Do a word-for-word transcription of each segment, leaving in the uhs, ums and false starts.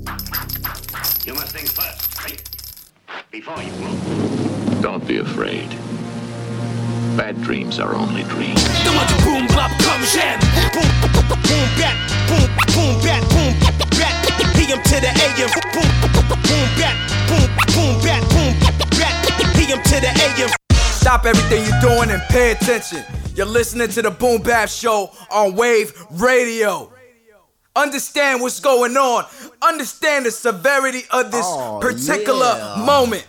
You must think first, right? Before you move. Don't be afraid. Bad dreams are only dreams. Boom, bop, come jam. Boom, boom, bat, boom, boom, bat, boom, bat. P M to the A M. Boom, boom, bat, boom, boom, bat, boom, bat. P M to the A M. Stop everything you're doing and pay attention. You're listening to the Boom Bap Show on Wave Radio. Understand what's going on. Understand the severity of this oh, particular yeah. moment.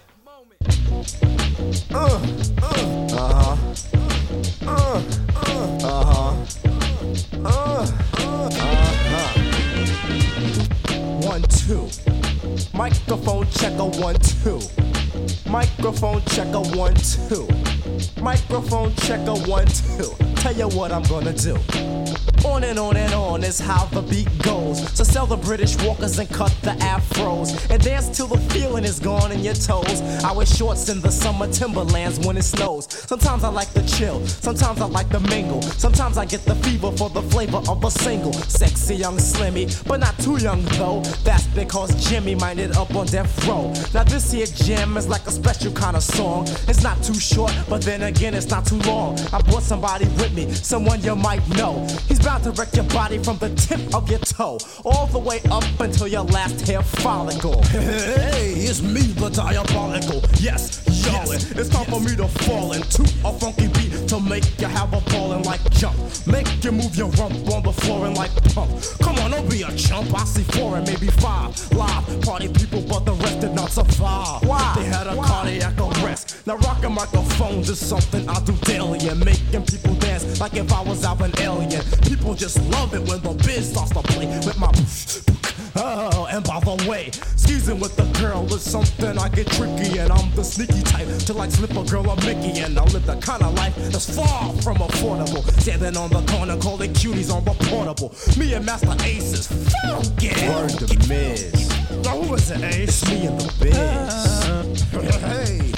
Uh, uh, uh-huh. Uh, uh, uh-huh. Uh, uh, uh-huh. One, two. Microphone checker, one, two. Microphone checker, one, two. Microphone checker, one, two. Tell you what I'm gonna do. On and on and on is how the beat goes. So sell the British walkers and cut the afros and dance till the feeling is gone in your toes. I wear shorts in the summer Timberlands when it snows. Sometimes I like to chill, sometimes I like to mingle. Sometimes I get the fever for the flavor of a single. Sexy young Slimmy, but not too young though. That's because Jimmy minded up on death row. Now this here jam is like a special kind of song. It's not too short, but then again it's not too long. I brought somebody with me, someone you might know. He's bound to wreck your body from the tip of your toe all the way up until your last hair follicle. Hey, it's me, the diabolical. Yes, y'all, yes, it's time yes. for me to fall into a funky beat to make you have a ballin' like jump. Make you move your rump on the floor and like pump. Come on, don't be a chump. I see four and maybe five live party people, but the rest did not survive. Why? They had a Why? cardiac arrest. Now rocking microphones is something I do daily and making people dance like if I was out an alien. People just love it when the biz starts to play with my oh, and by the way, skeezing with the girl is something I get tricky, and I'm the sneaky type to like slip a girl a Mickey, and I live the kind of life that's far from affordable. Standing on the corner calling cuties on the portable. Me and Master Ace is funky. Word to Miz. Now who is it, Ace? It's me and the biz. Uh, hey.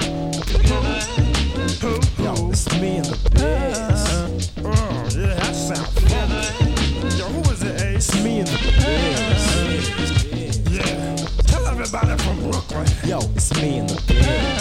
Yo, it's me and the biz. Oh, yeah, that sounds fun. Yo, who is it, Ace? It's me and the biz. Yeah, tell everybody from Brooklyn. Yo, it's me and the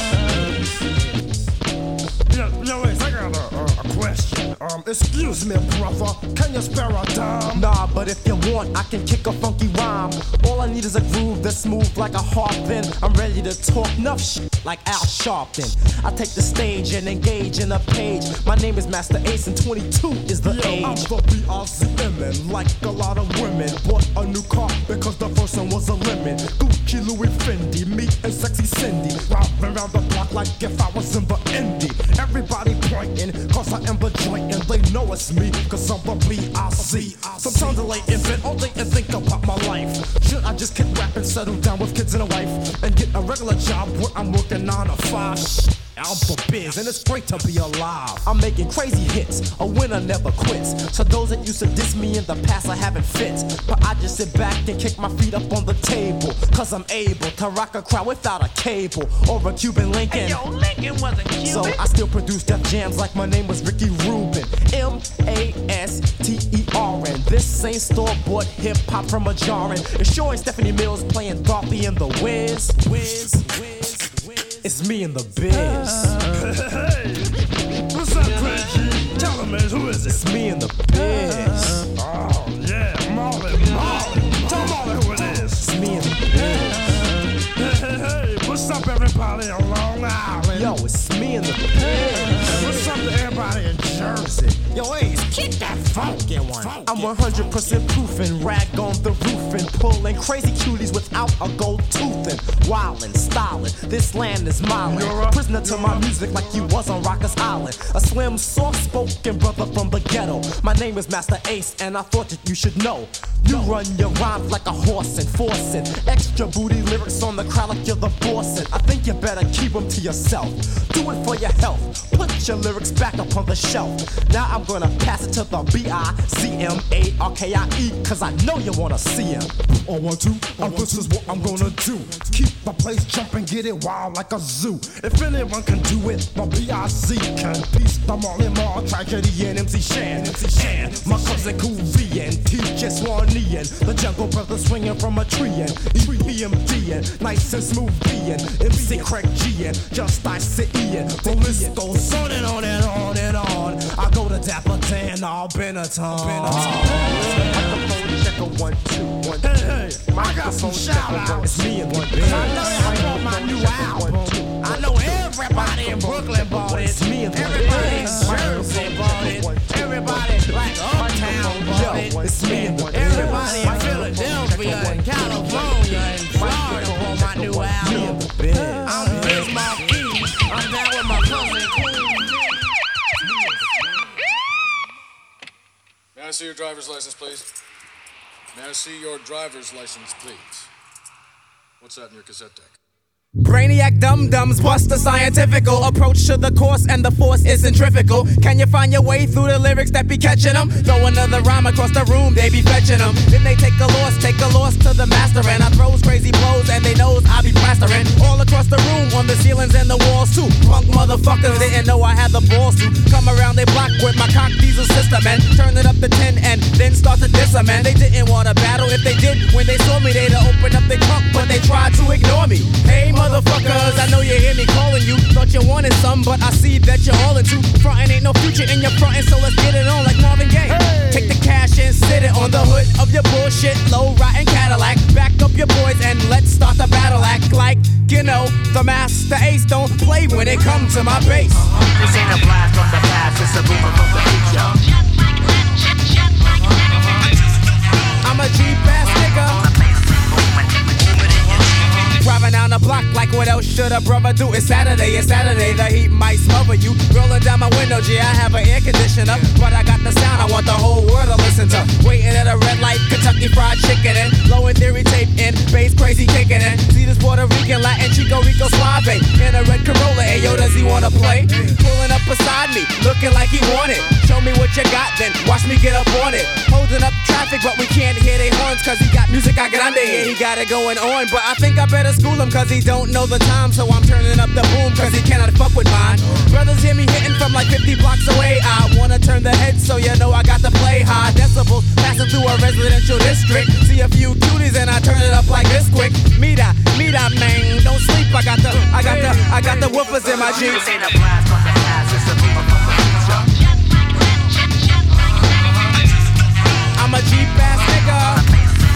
biz. Yo, yo, Ace, I got a, a, a question. Um, excuse me, brother, can you spare a dime? Nah, but if you want, I can kick a funky rhyme. All I need is a groove that's smooth like a harp. Then I'm ready to talk enough shit like Al Sharpton. I take the stage and engage in a page. My name is Master Ace and twenty-two is the yeah, age. I'm the B R Z M N, like a lot of women. Bought a new car because the first one was a lemon. Gucci, Louis, Fendi, me and sexy Cindy. Robbing around the block like if I was in the indie. Everybody pointing, cause I am the joint and they know it's me, cause I'm the B I Z. Sometimes I lay in bed all day and think about my life. Should I just keep rapping, settle down with kids and a wife, and get a regular job where I'm working nine to five? I'm for biz and it's great to be alive. I'm making crazy hits, a winner never quits. So those that used to diss me in the past I haven't fit, but I just sit back and kick my feet up on the table, cause I'm able to rock a crowd without a cable or a Cuban Lincoln. Hey, yo, Lincoln wasn't Cuban. So I still produce Def Jams like my name was Ricky Rubin. M A S T E R N. This ain't store-bought hip-hop from a jarring. It's sure ain't Stephanie Mills playing Dorothy in the Wiz. Wiz, Wiz. It's me and the biz. Hey, what's up, Reggie? Tell them, man, who is it? It's me and the biz. Oh, yeah, Marley, Marley. Tell Marley who it is. It's me and the biz. Hey, hey, hey, what's up, everybody on Long Island? Yo, it's me and the biz. What's up to everybody in Jersey? Yo, Ace, kick that funky one. I'm one hundred percent proofing, rag on the roof and pulling crazy cuties without a gold tooth and wildin', stylin'. This land is mine. Prisoner to my music like you was on Rikers Island. A slim, soft-spoken brother from the ghetto. My name is Master Ace, and I thought that you should know. You run your rhymes like a horse and forcing extra booty lyrics on the crowd like you're the boss. I think you better keep them to yourself. Do it for your health. Put your lyrics back up on the shelf. Now I'm gonna pass it to the B B I Z M A R K I E, cause I know you wanna see him. On one, two, and this is what I'm gonna do. Keep my place jumping, get it wild like a zoo. If anyone can do it, my B I Z can. Peace, the Marley Marl, Tragedy, and M C Shan. M C Shan, my cousin Cool V and T J Swanee and the Jungle Brothers swinging from a tree and E P M D and nice and smooth B and M C Craig G and Just I C E and the list goes on and on and on and on. I go to Dapper Dan, all Benetton. Microphone checker, one, two, one, two. Hey, hey, I got some shout outs. It's me and one big. I know I bought my new album. I know everybody in Brooklyn bought it. It's me and everybody in Jersey bought it. Everybody like Uptown bought it. It's me and everybody in Philadelphia and California and Florida bought my new album. I'm Biz Marquis. I'm down with my cousin Cool. May I see your driver's license, please? May I see your driver's license, please? What's that in your cassette deck? Brainiac dum-dums bust the scientifical approach to the course, and the force is centrifugal. Can you find your way through the lyrics that be catching them? Throw another rhyme across the room, they be fetching them. Then they take a loss, take a loss to the master, and I throws crazy blows, and they knows I be plastering all across the room, on the ceilings and the walls too. Punk motherfuckers didn't know I had the balls to come around they block with my cock diesel system and turn it up to ten and then start to diss them. And they didn't want to battle. If they did, when they saw me, they'd open up their trunk, but they tried to ignore me. Hey, motherfuckers, I know you hear me calling you. Thought you wanted some, but I see that you're all into frontin'. Ain't no future in your frontin', so let's get it on like Marvin Gaye. Hey. Take the cash and sit it on the hood of your bullshit low rotten Cadillac. Back up your boys and let's start the battle. Act like you know the master ace. Don't play when it comes to my bass. This ain't a blast from the past, it's a boomer from the future. I'm a G-Bass nigga. Driving down the block like what else should a brother do? It's Saturday, it's Saturday, the heat might smother you. Rolling down my window, G, I have an air conditioner, but I got the sound I want the whole world to listen to. Waiting at a red light, Kentucky Fried Chicken and low in theory tape in, bass crazy kicking in. See this Puerto Rican, Latin, Chico Rico Suave in a red Corolla, hey yo, does he wanna play? Pulling up beside me, looking like he want it. Show me what you got, then watch me get up on it. Holding up traffic, but we can't hear they horns, cause he got music I grande, yeah, he got it going on. But I think I better school him, cause he don't know the time, so I'm turning up the boom, cause he cannot fuck with mine. Brothers hear me hitting from like fifty blocks away. I wanna turn the head, so you know I got to play high decibels, passing through a residential district. See a few cuties and I turn it up like this quick. Mira, mira, man, don't sleep. I got the, I got the, I got the woofers in my jeans. This ain't a blast from the past, it's a boomer from the future. I'm a G-Bass nigga.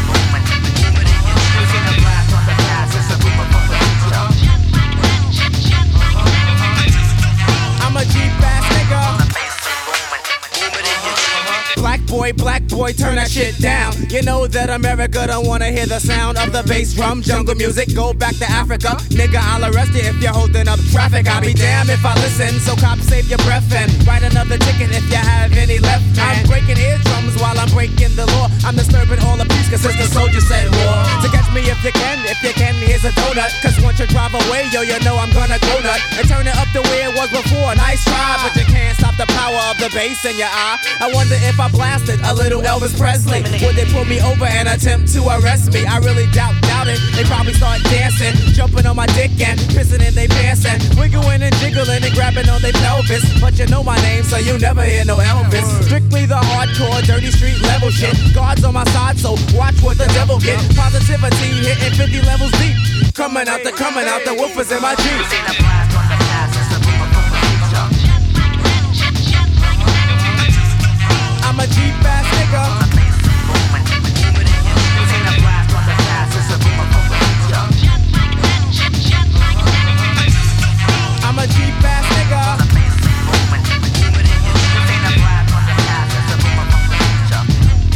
I'm a G-Bass nigga. Black boy, black boy, turn that shit down. You know that America don't wanna hear the sound of the bass drum. Jungle music, go back to Africa. Nigga, I'll arrest you if you're holding up traffic. I'll be damned if I listen, so cops save your breath and write another ticket if you have any left, man. I'm breaking eardrums while I'm breaking the law. I'm disturbing all the peace, cause the soldier said war. To catch me if you can, if you can, here's a donut. Cause once you drive away, yo, you know I'm gonna go nut. And turn it up the way it was before. Nice try, but you can't stop the power of the bass in your eye. I wonder if I blasted a little Elvis Presley, would they pull me over and attempt to arrest me? I really doubt, doubt it. They probably start dancing, jumping on my dick and pissing in they pants and wiggling and jiggling and grabbing on their pelvis. But you know my name, so you never hear no Elvis. Strictly the hardcore, dirty street level shit. Guards on my side, so watch what the devil get. Positivity hitting fifty levels deep. Coming out the, coming out the woofers in my Jeep. This ain't a blast from the past, it's a boomer from the future. I'm a G-Bass nigga. This ain't a blast from the past, it's a boomer from the future. I'm a G-Bass nigga. This ain't a blast from the past, it's a boomer from the future.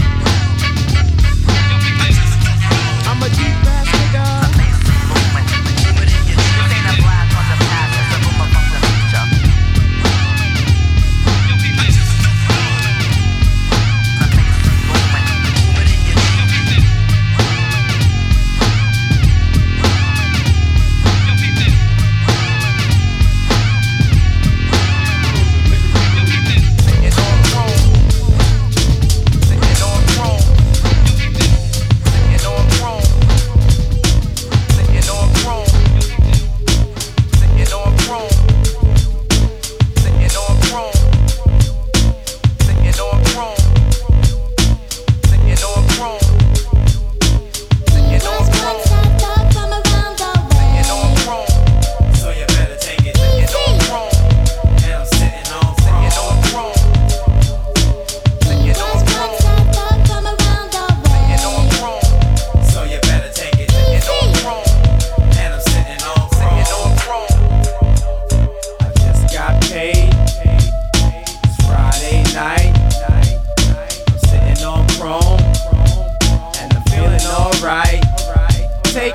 I'm a G-Bass nigga. This ain't a blast from the past, it's a boomer from the future.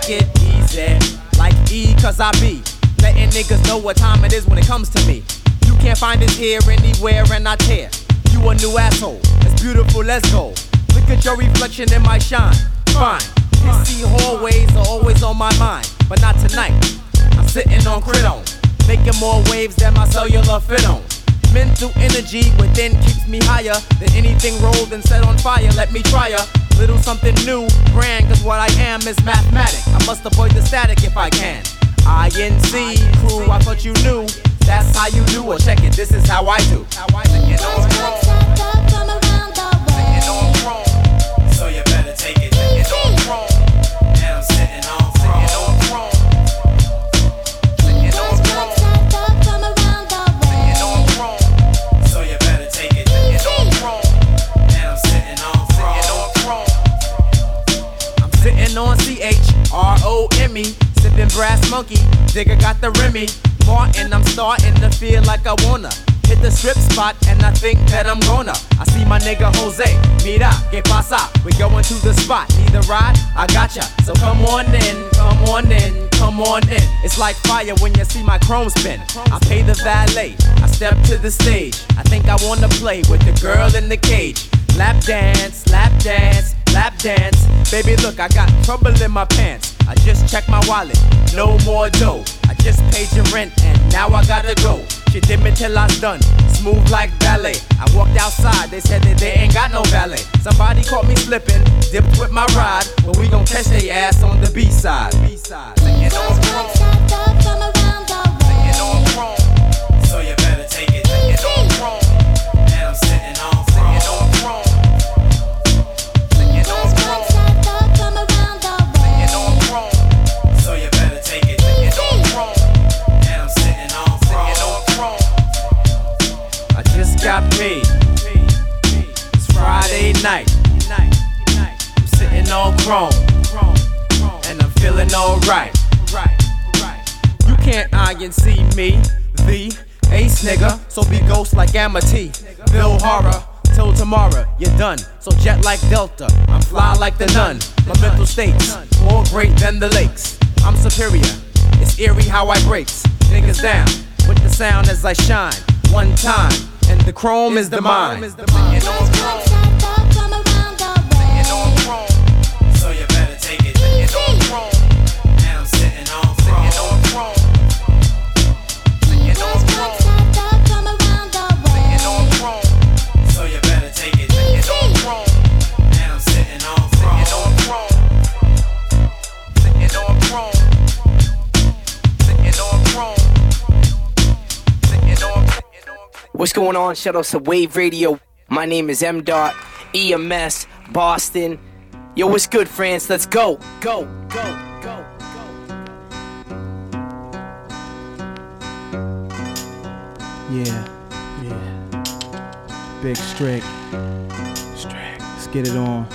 take it easy. Like E, cause I be letting niggas know what time it is when it comes to me. You can't find it here, anywhere, and I tear. You a new asshole, it's beautiful, let's go. Look at your reflection in my shine. Fine, pissy hallways are always on my mind, but not tonight. I'm sitting on Cridon, making more waves than my cellular fit on. Mental energy within keeps me higher than anything rolled and set on fire. Let me try a little something new, brand, cause what I am is mathematic. I must avoid the static if I can. I N C crew, I thought you knew. That's how you do, or check it, this is how I do. How I do. You know it's wrong. You know I'm wrong. So you better take it. You know I'm wrong. And I'm sitting on wrong. You know I'm wrong. You know I'm wrong. You know I'm wrong. So you better take it. You know I'm wrong. And I'm sitting on wrong. You know I'm wrong. I'm sitting on C H R O M E. Sipping brass monkey. Digger got the Remy. Martin, I'm starting to feel like I wanna hit the strip spot, and I think that I'm gonna. I see my nigga Jose, mira, que pasa? We going to the spot, need a ride? I gotcha. So come on in, come on in, come on in. It's like fire when you see my chrome spin. I pay the valet, I step to the stage. I think I wanna play with the girl in the cage. Lap dance, lap dance, lap dance. Baby, look, I got trouble in my pants. I just checked my wallet, no more dough. I just paid your rent and now I gotta go. She did me till I was done, smooth like ballet. I walked outside, they said that they ain't got no valet. Somebody caught me slipping, dipped with my ride, but we gon' catch they ass on the B-side. B-side. You know I'm wrong. You know I'm wrong. So you better take it. You know I'm wrong. And I'm sitting on wrong. You know I'm wrong. You know I'm wrong. You know I'm wrong. So you better take it. You know I'm wrong. And I'm sitting on wrong. You know I'm wrong. I just got paid. It's Friday night. I'm sitting on chrome. And I'm feeling alright. You can't I N C me, the ace nigga. So be ghost like Amity. Bill Horror. Till tomorrow, you're done. So jet like Delta, I'm fly like the nun. My mental state's more great than the lakes. I'm superior, it's eerie how I breaks niggas down with the sound as I shine. One time, and the chrome is the mine. You know I'm wrong. You know I'm wrong. So you better take it. You know I'm wrong. And I'm sitting on wrong. You know I'm wrong. You know I'm wrong. You know I'm wrong. So you better take it. You know I'm wrong. And I'm sitting on wrong. You know I'm wrong. You know I'm wrong. You know I'm wrong. You know I'm wrong. What's going on? Shout out to Wave Radio. My name is M Dot, E M S, Boston. Yo, what's good, France? Let's go, go, go, go, go. Yeah, yeah. Big Strick. Strick. Let's get it on.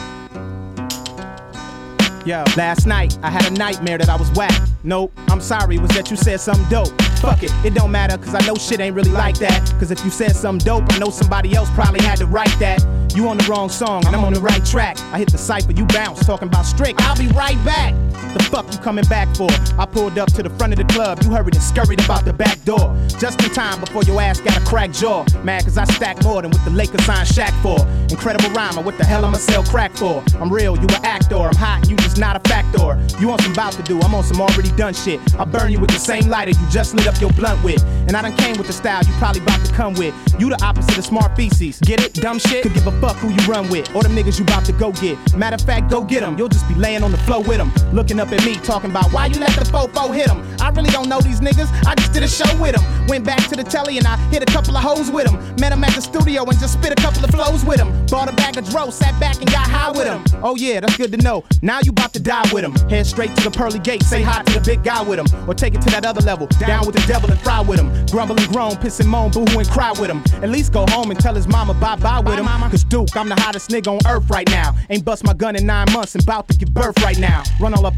Yo, last night I had a nightmare that I was whack. Nope, I'm sorry, it was that you said something dope. Fuck it, it don't matter, cause I know shit ain't really like that. Cause if you said something dope, I know somebody else probably had to write that. You on the wrong song, and I'm on the right track. I hit the cypher, you bounce, talking about Strick, I'll be right back. The fuck you coming back for? I pulled up to the front of the club, you hurried and scurried about the back door. Just in time before your ass got a cracked jaw. Mad cause I stack more than what the Lakers signed Shaq for. Incredible rhymer, what the hell I'ma sell crack for? I'm real, you an actor, I'm hot, you just not a factor. You on some bout to do, I'm on some already done shit. I burn you with the same lighter you just lit up your blunt with. And I done came with the style you probably about to come with. You the opposite of smart feces. Get it? Dumb shit? Could give a fuck who you run with. Or them niggas you about to go get. Matter of fact, go get them. You'll just be laying on the floor with them. Looking up at me, talking about why you let the fofo hit them. I really don't know these niggas. I just did a show with them. Went back to the telly and I hit a couple of hoes with them. Met them at the studio and just spit a couple of flows with them. Bought a bag of dro, sat back and got high with them. Oh yeah, that's good to know. Now you about to die with them. Head straight to the pearly gate, say hi to the big guy with them. Or take it to that other level, down with the devil and fry with him. Grumble and groan, piss and moan, boo-hoo and cry with him. At least go home and tell his mama bye-bye with him. Cause Duke, I'm the hottest nigga on earth right now. Ain't bust my gun in nine months and bout to give birth right now. Run all up in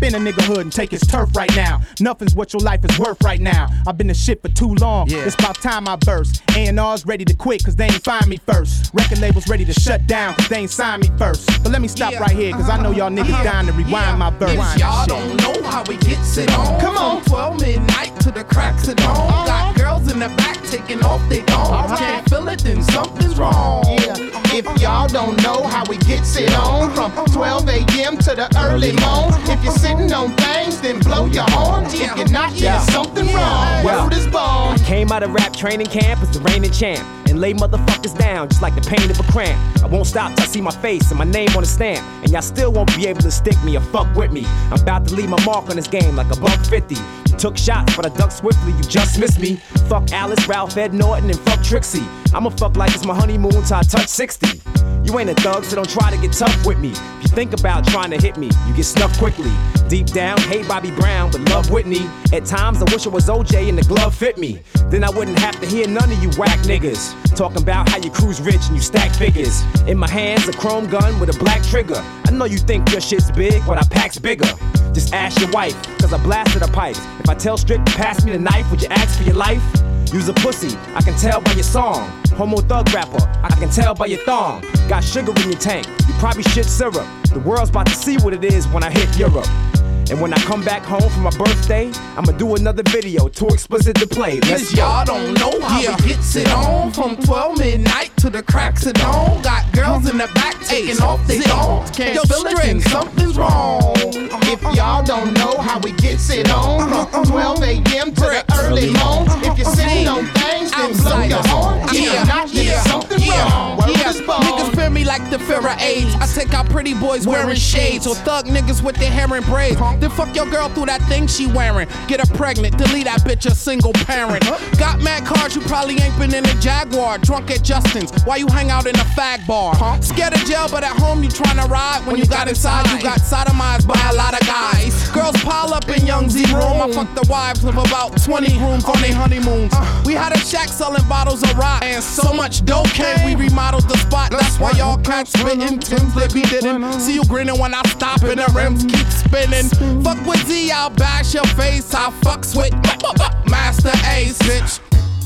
in a nigga hood and take his turf right now. Nothing's what your life is worth right now. I've been the shit for too long. Yeah. It's about time I burst. A and R's ready to quit cause they ain't find me first. Record labels ready to shut down cause they ain't sign me first. But let me stop yeah. right here cause I know y'all niggas uh-huh. dying to rewind yeah. my verse. If y'all don't know how we gets it on. Come on. From twelve midnight to the cracks of dawn. Uh-huh. Got girls in the back taking off they gone. Right. Can't feel it then something's wrong. Yeah. If y'all don't know how we gets it on. From twelve a.m. to the early morn. If you're sitting on things then blow your horn. If you're not, yeah. there's something wrong. Word is born. Came out of rap training camp as the reigning champ and lay motherfuckers down just like the pain of a cramp. I won't stop till I see my face and my name on a stamp, and y'all still won't be able to stick me or fuck with me. I'm about to leave my mark on this game like a buck fifty. You took shots but I ducked swiftly, you just missed me. Fuck Alice, Ralph, Ed Norton, and fuck Trixie. I'ma fuck like it's my honeymoon till I touch sixty. You ain't a thug, so don't try to get tough with me. If you think about trying to hit me, you get snuffed quickly. Deep down, hate Bobby Brown, but love Whitney. At times, I wish it was O J and the glove fit me. Then I wouldn't have to hear none of you whack niggas talking about how you cruise rich and you stack figures. In my hands, a chrome gun with a black trigger. I know you think your shit's big, but I pack's bigger. Just ask your wife, cause I blasted her pipes. If I tell Strick to pass me the knife, would you ask for your life? Use a pussy, I can tell by your song. Homo thug rapper, I can tell by your thong. Got sugar in your tank, you probably shit syrup. The world's about to see what it is when I hit Europe. And when I come back home for my birthday, I'ma do another video, too explicit to play. Let's go. Y'all don't know how yeah. we gets it on. From twelve midnight to the cracks of dawn. Got girls in the back taking hey, off their thongs. Can't Yo, feel it then something's wrong. If y'all don't know how we gets it on. From twelve a.m. to the early morn. If you're sitting on things, then blow your horn. If you're not, then yeah. something yeah. wrong. Word yeah. is born. Niggas fear me like the fear of AIDS. I take out pretty boys wearing shades. Or thug niggas with their hair in braids. Then fuck your girl through that thing she wearing. Get her pregnant, delete that bitch a single parent. Got mad cars, you probably ain't been in a Jaguar. Drunk at Justin's, while you hang out in a fag bar. Scared of jail, but at home you tryna ride. When you got inside, you got sodomized by a lot of guys. Girls pile up in Young Z room. I fucked the wives of about twenty grooms on their honeymoons. We had a shack selling bottles of rock, and so much dope came, we remodeled the spot. That's why y'all can't spit in Tim's that we didn't. See you grinning when I stop and the rims keep spinning. Fuck with Z, I'll bash your face. I fucks with Master Ace, bitch.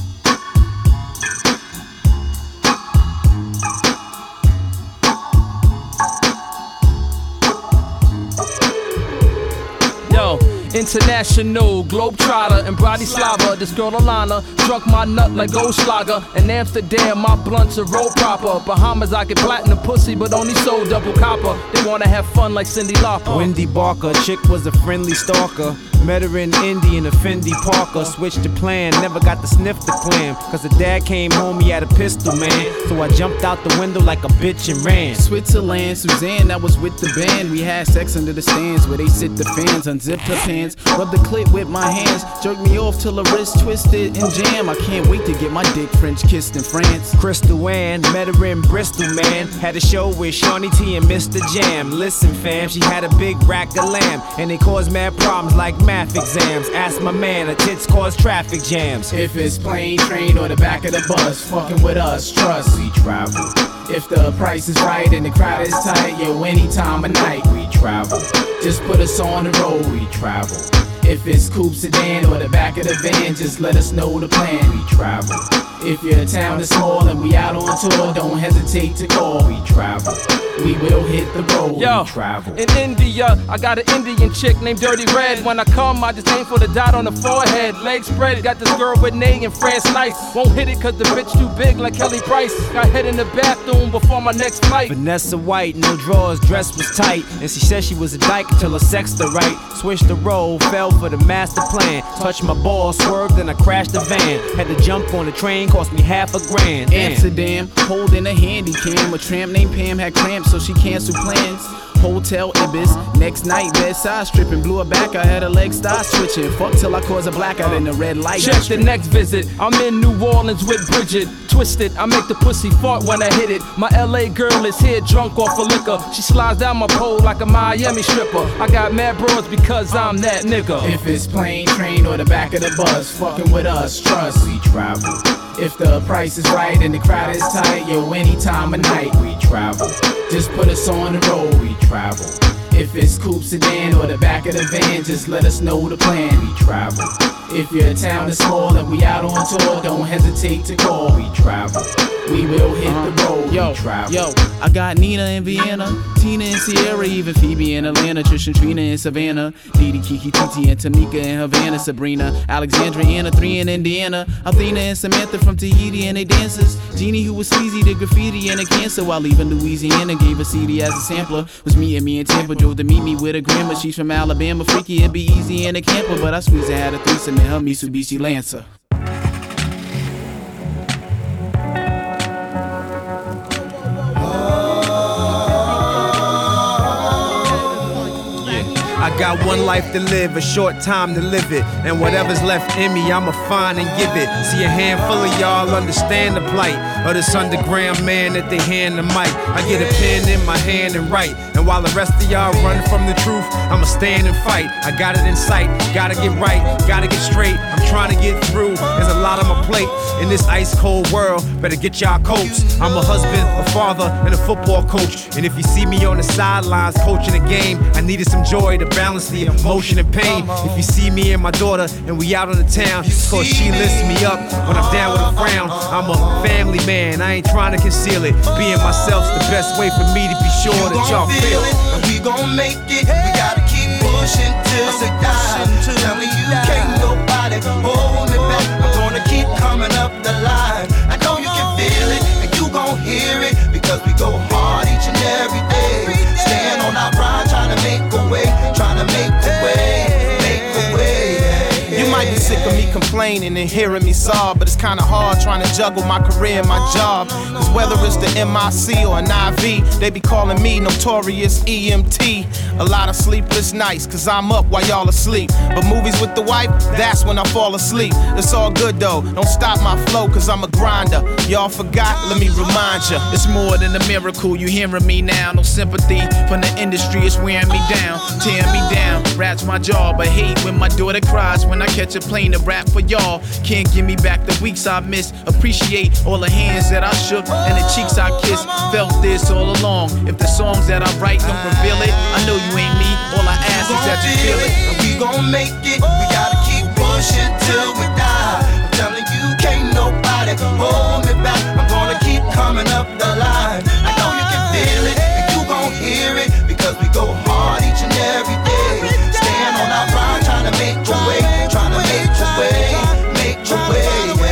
Yo, international globetrotter and Bratislava. This girl Alana struck my nut like Goldschlager. In Amsterdam, my blunts are roll proper. Bahamas, I get platinum pussy, but only sold double copper. They wanna have fun like Cindy Lauper. Wendy Barker, chick was a friendly stalker. Met her in Indy in a Fendi Parker. Switched the plan, never got to sniff the clam. Cause the dad came home, he had a pistol, man. So I jumped out the window like a bitch and ran. Switzerland, Suzanne, that was with the band. We had sex under the stands where they sit the fans. Unzipped her pants, rubbed the clit with my hands. Jerked me off till the wrist twisted and jam. I can't wait to get my dick French kissed in France. Crystal Ann, met her in Bristol, man. Had a show with Shawnee T and Mister Jam. Listen fam, she had a big rack of lamb. And they caused mad problems like math exams. Ask my man, her tits cause traffic jams. If it's plane, train, or the back of the bus, fucking with us, trust we travel. If the price is right and the crowd is tight, yo, any time of night we travel. Just put us on the road, we travel. If it's coupe sedan or the back of the van, just let us know the plan, we travel. If your town is small and we out on tour, don't hesitate to call, we travel. We will hit the road, Yo, we travel. In India, I got an Indian chick named Dirty Red. When I come, I just aim for the dot on the forehead. Legs spread, got this girl with Nay and France Nice. Won't hit it cause the bitch too big like Kelly Price. Got head in the bathroom before my next flight. Vanessa White, no drawers, dress was tight. And she said she was a dyke until her sexed her right. Switched the role, fell for the master plan. Touched my ball, swerved, then I crashed the van. Had to jump on the train, cost me half a grand. Damn. Amsterdam, holding a handy cam. A tramp named Pam had cramps, so she canceled plans. Hotel Ibis, next night bedside stripping, blew her back, I had her legs start switching. Fuck till I cause a blackout in the red light. Check the next visit, I'm in New Orleans with Bridget. Twisted, I make the pussy fart when I hit it. My L A girl is here drunk off of liquor. She slides down my pole like a Miami stripper. I got mad bros because I'm that nigga. If it's plane, train, or the back of the bus, fucking with us, trust we travel. If the price is right and the crowd is tight, yo, any time of night we travel. Just put us on the road, we travel. If it's coupe sedan or the back of the van, just let us know the plan. We travel. If your town is small and we out on tour, don't hesitate to call. We travel. We will hit the road. Yo, we travel. Yo, I got Nina in Vienna, Tina in Sierra, even Phoebe in Atlanta, Trish and Trina in Savannah, Didi, Kiki, Titi, and Tamika in Havana, Sabrina, Alexandra, Anna, three in Indiana, Athena and Samantha from Tahiti and they dancers, Jeannie who was sleazy, the graffiti and the cancer, while leaving Louisiana, gave a C D as a sampler, was me and me in Tampa, drove to meet me with a grandma, she's from Alabama, freaky and be easy in a camper, but I squeezed her, had a threesome in her Mitsubishi Lancer. I got one life to live, a short time to live it. And whatever's left in me, I'ma find and give it. See a handful of y'all understand the plight of this underground man that they hand the mic. I get a pen in my hand and write. And while the rest of y'all run from the truth, I'ma stand and fight. I got it in sight, gotta get right, gotta get straight. I'm trying to get through, there's a lot on my plate. In this ice cold world, better get y'all coats. I'm a husband, a father, and a football coach. And if you see me on the sidelines coaching a game, I needed some joy to balance the emotion and pain. If you see me and my daughter and we out on the town, it's cause she lifts me up when I'm down with a frown. I'm a family man, I ain't trying to conceal it. Being myself's the best way for me to be sure you that y'all feel it. And we gon' make it, we gotta keep pushing till we die. Telling you can't nobody hold me back. I'm gonna keep coming up the line. I know you can feel it and you gon' hear it, because we go hard each and every day. Stand on our grind, trying to make a way, trying to make a way, make a way. You might be sick of me complaining and hearing me sob, but it's kinda hard trying to juggle my career and my job. Cause whether it's the M I C or an I V, they be calling me Notorious E M T. A lot of sleepless nights, cause I'm up while y'all asleep. But movies with the wife, that's when I fall asleep. It's all good though, don't stop my flow, cause I'm a grinder. Y'all forgot, let me remind ya. It's more than a miracle, you hearing me now. No sympathy from the industry, it's wearing me down, tearing me down. Rat's my jaw, but hate when my daughter cries when I catch a plane to rap for y'all. Can't give me back the weeks I missed. Appreciate all the hands that I shook and the cheeks I kissed. Felt this all along. If the songs that I write don't reveal it, I know you ain't me. All I ask is that you feel it. And we gon' make it. We gotta keep pushing till we die. I'm telling you, can't nobody hold me back. I'm gonna keep coming up the line. I know you can feel it and you gon' hear it, because we go hard each and every day. Stand on our grind, trying to make a way, trying to make a way, make a way.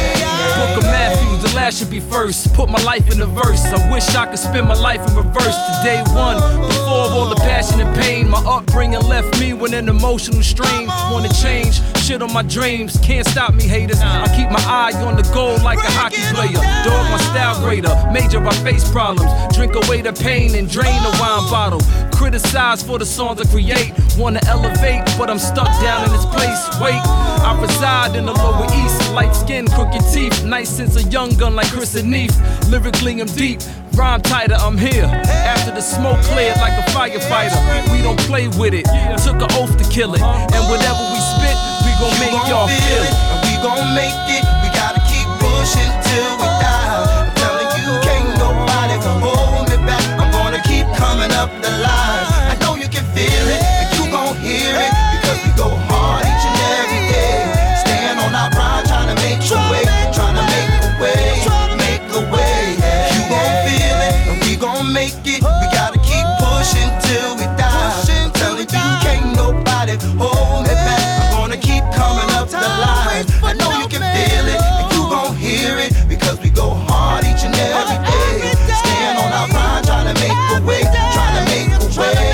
Book of Matthew, the last should be first. Put my life in a verse. I wish I could spend my life in reverse to day one. Before all the passion and pain, my upbringing left me with an emotional strain. Wanna change, shit on my dreams. Can't stop me, haters. I keep my eye on the goal like a hockey player. Dog my style greater. Major I face problems. Drink away the pain and drain the wine bottle. Criticize for the songs I create. Wanna elevate, but I'm stuck down in this place. Wait, I reside in the Lower East. Light skin, crooked teeth. Nice sense of young gun like Chris and Neef. Lyrically I'm deep. Rhyme tighter, I'm here. After the smoke cleared like a firefighter. We don't play with it. Took an oath to kill it. And whatever we spit, we gon' make y'all feel it. And we gon' make it. We gotta keep pushing till we die. I'm telling you, can't nobody hold me back. I'm gonna keep coming up the line. I know you can feel it and you gon' hear it, because we go hard each and every day. Stand on our grind, trying to make a way, trying to make a way, make a way. You gon' feel it and we gon' make it. We gotta keep pushing till we die. I'm telling you, can't nobody hold me back. I'm gonna keep coming up the line. I know you can feel it and you gon' hear it, because we go hard each and every day. Stand on our grind, trying to make a way, trying to make a way.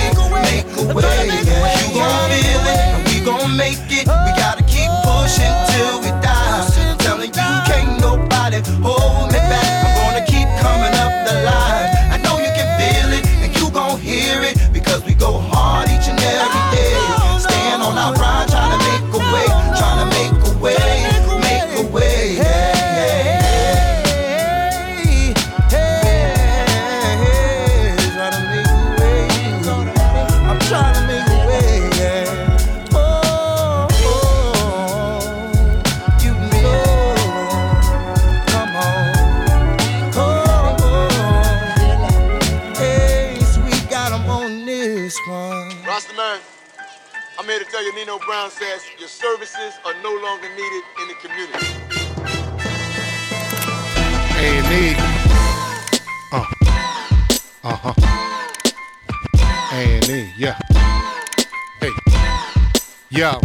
I'm here to tell you Nino Brown says your services are no longer needed in the community. A and E. Uh. Uh-huh. A and E, yeah. Hey. Yo.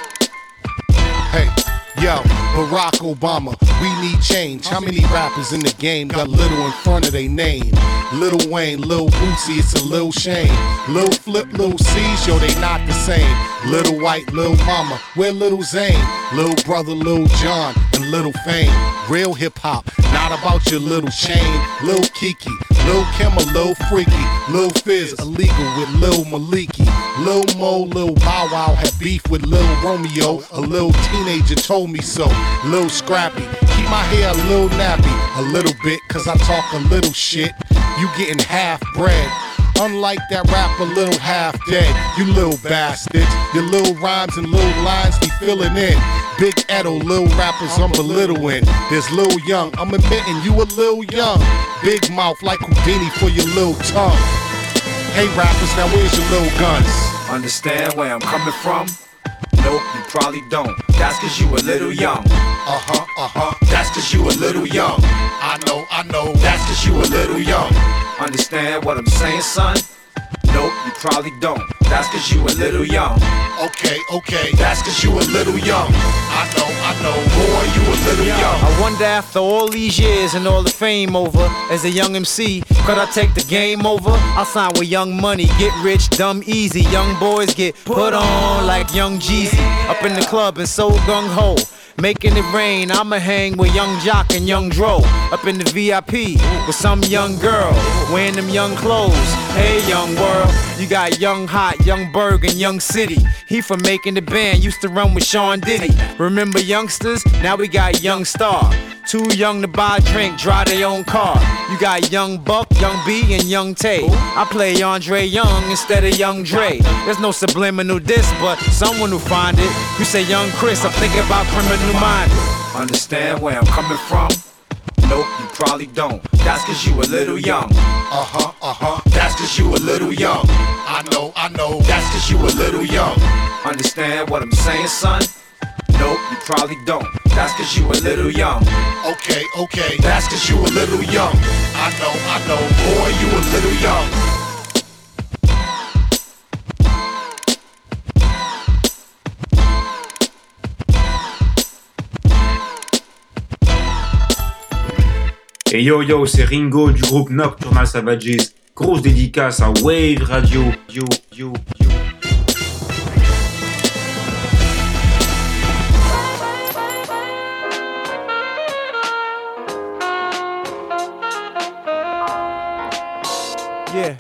Hey. Yo, Barack Obama, we need change. How many rappers in the game got little in front of their name? Lil Wayne, Lil Boosie, it's a Lil Shane. Lil Flip, Lil C's, yo, they not the same. Lil White, Lil Mama, where Lil Zane? Lil Brother, Lil John, and Lil Fame. Real hip-hop, not about your little chain. Lil Kiki, Lil Kim, or Lil Freaky. Lil Fizz, illegal with Lil Maliki. Lil Mo, Lil Bow Wow had beef with Lil Romeo. A little teenager told me so. Lil Scrappy, keep my hair a little nappy. A little bit, cause I talk a little shit. You getting half bread. Unlike that rapper, little half dead. You little bastards. Your little rhymes and little lines be filling in. Big Edo, little rappers I'm belittling. There's Lil Young, I'm admitting you a little young. Big mouth like Houdini for your little tongue. Hey rappers, now where's your little guns? Understand where I'm coming from? Nope, you probably don't. That's cause you a little young. Uh-huh, uh-huh. That's cause you a little young. I know, I know. That's cause you a little young. Understand what I'm saying, son? Nope, you probably don't. That's cause you a little young. Okay, okay. That's cause you a little young. I know, I know. Boy, you a little young. I wonder after all these years and all the fame over, as a young M C, could I take the game over? I'll sign with Young Money, get rich, dumb easy. Young boys get put on like Young Jeezy. Up in the club and so gung-ho, making it rain. I'ma hang with Young Jock and Young Dro. Up in the V I P with some young girl wearing them young clothes. Hey young world, you got Young Hot, Young Berg, and Young City. He from Making the Band, used to run with Sean Diddy. Remember youngsters? Now we got Young Star. Too young to buy a drink, drive their own car. You got Young Buck, Young B, and Young Tay. I play Andre Young instead of Young Dre. There's no subliminal diss, but someone who find it. You say Young Chris, I'm thinking about Criminal Minded. Understand where I'm coming from? Nope, you probably don't. That's cause you a little young. Uh-huh, uh-huh. That's cause you a little young. I know, I know. That's cause you a little young. Understand what I'm saying, son? Nope, you probably don't. That's cause you a little young. Okay, okay. That's cause you a little young. I know, I know. Boy, you a little young. Et yo yo, c'est Ringo du groupe Nocturnal Savages. Grosse dédicace à Wave Radio. Yo yo yo. Yeah.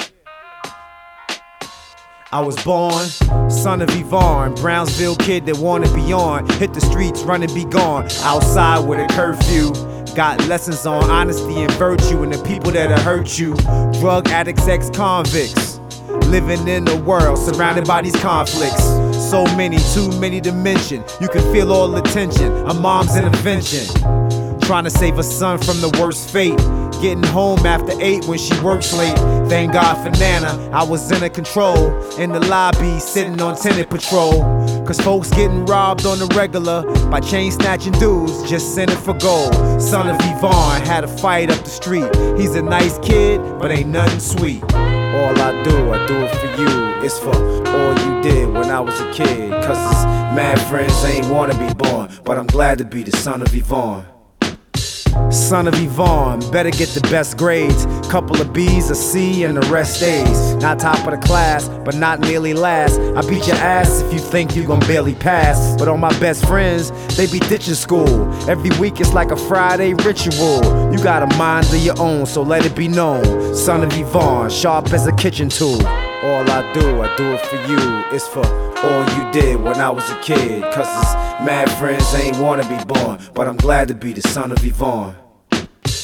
I was born, son of Yvonne, Brownsville kid that wanna be on. Hit the streets, run and be gone. Outside with a curfew. Got lessons on honesty and virtue and the people that'll hurt you. Drug addicts, ex-convicts. Living in a world surrounded by these conflicts. So many, too many to mention. You can feel all the tension. A mom's intervention. Trying to save a son from the worst fate. Getting home after eight when she works late. Thank God for Nana, I was in her control. In the lobby, sitting on tenant patrol. Cause folks getting robbed on the regular by chain snatching dudes just sending for gold. Son of Yvonne had a fight up the street. He's a nice kid, but ain't nothing sweet. All I do, I do it for you. It's for all you did when I was a kid. Cause his mad friends ain't wanna be born, but I'm glad to be the son of Yvonne. Son of Yvonne, better get the best grades. Couple of B's, a C, and the rest A's. Not top of the class, but not nearly last. I beat your ass if you think you gon' barely pass. But all my best friends, they be ditching school. Every week it's like a Friday ritual. You got a mind of your own, so let it be known. Son of Yvonne, sharp as a kitchen tool. All I do, I do it for you. It's for all you did when I was a kid. Cause his mad friends ain't wanna be born, but I'm glad to be the son of Yvonne.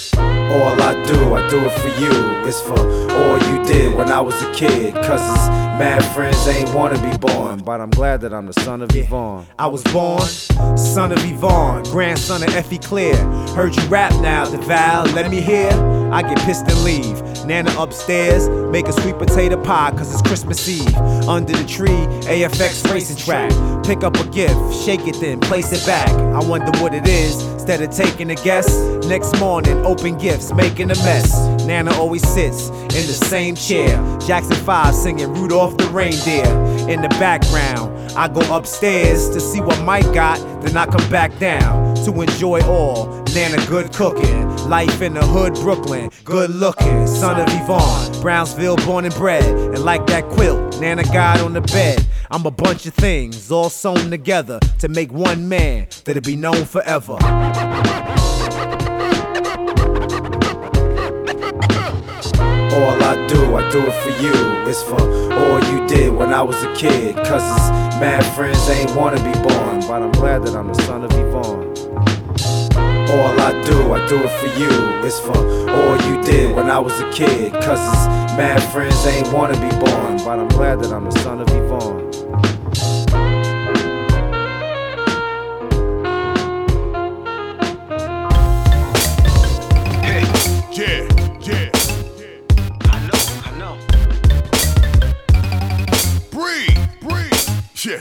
All I do, I do it for you. It's for all you did when I was a kid. Cousins, mad friends ain't wanna be born, but I'm glad that I'm the son of Yvonne. I was born, son of Yvonne, grandson of Effie Clear. Heard you rap now, DeVal, let me hear. I get pissed and leave. Nana upstairs, make a sweet potato pie, cause it's Christmas Eve. Under the tree, A F X racing track. Pick up a gift, shake it then, place it back. I wonder what it is, instead of taking a guess. Next morning, open gifts, making a mess. Nana always sits in the same chair. Jackson five singing Rudolph the Reindeer. In the background, I go upstairs to see what Mike got, then I come back down to enjoy all. Nana good cooking, life in the hood, Brooklyn, good looking. Son of Yvonne, Brownsville born and bred. And like that quilt, Nana got on the bed. I'm a bunch of things all sewn together to make one man that'll be known forever. All I do, I do it for you. It's for all you did when I was a kid. Cousins, mad friends ain't wanna be born, but I'm glad that I'm the son of Yvonne. All I do, I do it for you. It's for all you did when I was a kid. Cousins, mad friends ain't wanna be born, but I'm glad that I'm the son of Yvonne. Hey, yeah, yeah. I know, I know. Breathe, breathe. Yeah.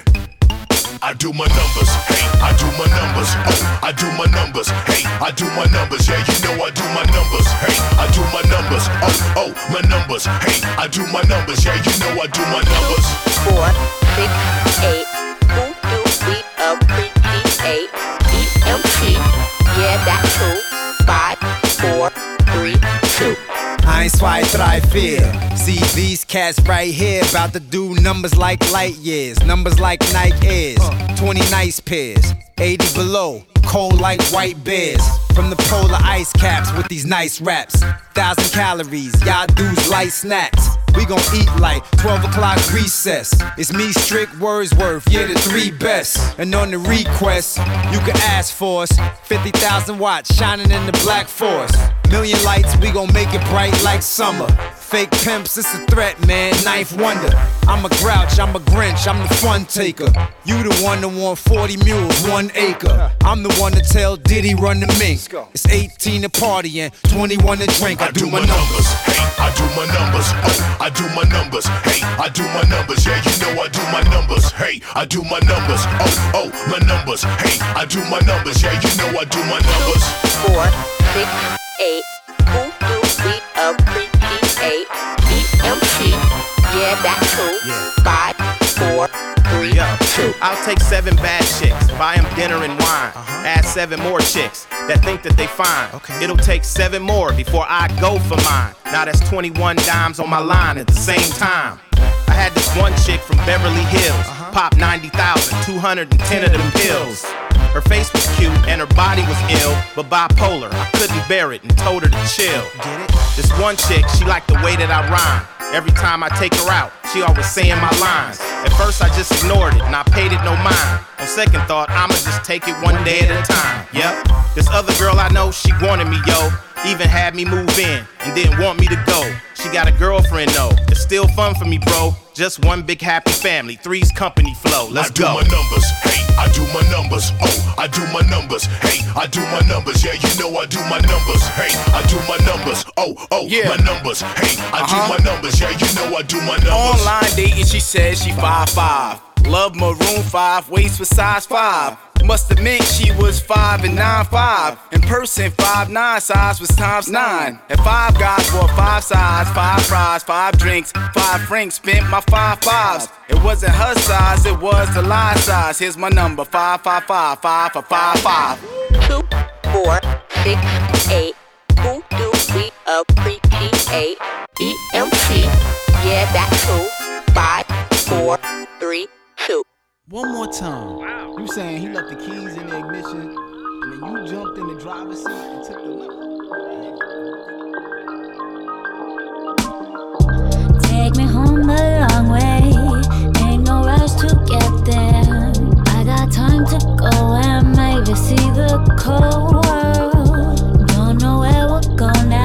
I do my numbers, hey, I do my numbers, oh, I do my numbers, hey, I do my numbers, yeah, you know I do my numbers, hey, I do my numbers, oh, oh, my numbers, hey, I do my numbers, yeah, you know I do my numbers. Four, six, eight, who do we appreciate? E M C, yeah, that's true. Five, four, three, two. Eins, zwei, drei, vier. See these cats right here, about to do numbers like light years, numbers like Nike Airs, twenty nice pairs, eighty below, cold like white bears. From the polar ice caps with these nice raps, thousand calories, y'all dudes light snacks. We gon' eat like twelve o'clock recess. It's me, Strick, Wordsworth, yeah, the three best. And on the request, you can ask for us. fifty thousand watts shining in the black forest. Million lights, we gon' make it bright like summer. Fake pimps, it's a threat, man, knife wonder. I'm a grouch, I'm a Grinch, I'm the fun taker. You the one that want forty mules, one acre. I'm the one to tell Diddy run the mink. It's eighteen to party and twenty-one to drink. I, I do, do my numbers, hey, I do my numbers, oh, I do my numbers, hey, I do my numbers, yeah, you know I do my numbers, hey, I do my numbers, oh, oh, my numbers, hey, I do my numbers, yeah, you know I do my numbers. Four, six, eight, who do we appreciate? E M C, yeah, that's true. Five, four, three, two. I'll take seven bad chicks, buy them dinner and wine, uh-huh. Add seven more chicks that think that they fine. Okay. It'll take seven more before I go for mine. Now that's twenty-one dimes on my line at the same time. I had this one chick from Beverly Hills, uh-huh. Pop ninety thousand, two hundred ten of them pills. Her face was cute and her body was ill, but bipolar, I couldn't bear it and told her to chill. Get it? This one chick, she liked the way that I rhyme. Every time I take her out, she always saying my lines. At first I just ignored it and I paid it no mind. On second thought, I'ma just take it one day at a time. Yep, this other girl I know, she wanted me, yo. Even had me move in and didn't want me to go. She got a girlfriend though, it's still fun for me, bro. Just one big happy family, three's company flow. Let's I do go. my numbers, hey, I do my numbers, oh, I do my numbers, hey, I do my numbers, yeah, you know I do my numbers, hey, I do my numbers, oh, oh, yeah. My numbers, hey, I uh-huh. do my numbers, yeah, you know I do my numbers. Online dating, she says she five five. Love maroon five, waist for size five. Must admit she was five and nine five. In person, five nine size was times nine. And five guys wore five size, five fries, five drinks, five francs. Spent my five fives. It wasn't her size, it was the line size. Here's my number: five five five five for five five. Two, four, six, eight. Who do we appreciate? E M C. Yeah, that's true. Five, four, three, two. One more time. Wow. You saying he left the keys in the ignition and then you jumped in the driver's seat and took the lift? Take me home the long way. Ain't no rush to get there. I got time to go and maybe see the cold world. Don't know where we're going now.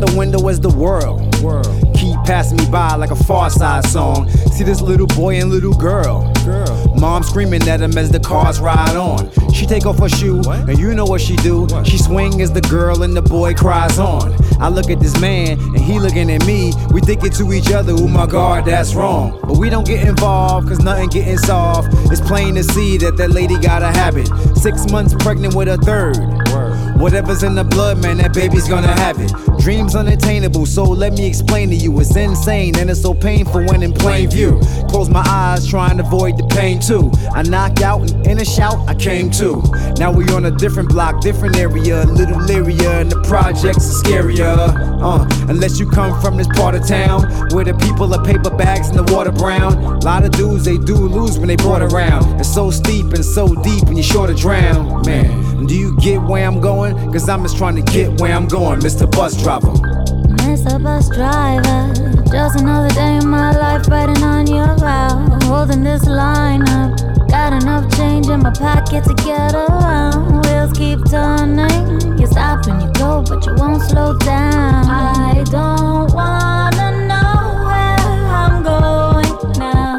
the window as the world. world. Keep passing me by like a Far Side song. See this little boy and little girl. girl. Mom screaming at him as the cars ride on. She take off her shoe, what? And you know what she do. What? She swing as the girl and the boy cries on. I look at this man and he looking at me. We thinking to each other, oh my God, that's wrong. But we don't get involved, cause nothing getting solved. It's plain to see that that lady got a habit. Six months pregnant with a third. Word. Whatever's in the blood, man, that baby's gonna have it. Dreams unattainable, so let me explain to you. It's insane and it's so painful when in plain view. Close my eyes, trying to avoid the pain too. I knock out and in a shout, I came to. Now we on a different block, different area. A little leeриer and the projects are scarier. Uh, unless you come from this part of town where the people are paper bags and the water brown. A lot of dudes, they do lose when they brought around. It's so steep and so deep and you're sure to drown. Man, do you get where I'm going? Cause I'm just trying to get where I'm going, Mister Bus Driver. Mister Bus Driver, just another day in my life riding on your route. Holding this line up, got enough change in my pocket to get around. Wheels keep turning, you stop and you go, but you won't slow down. I don't wanna know where I'm going now.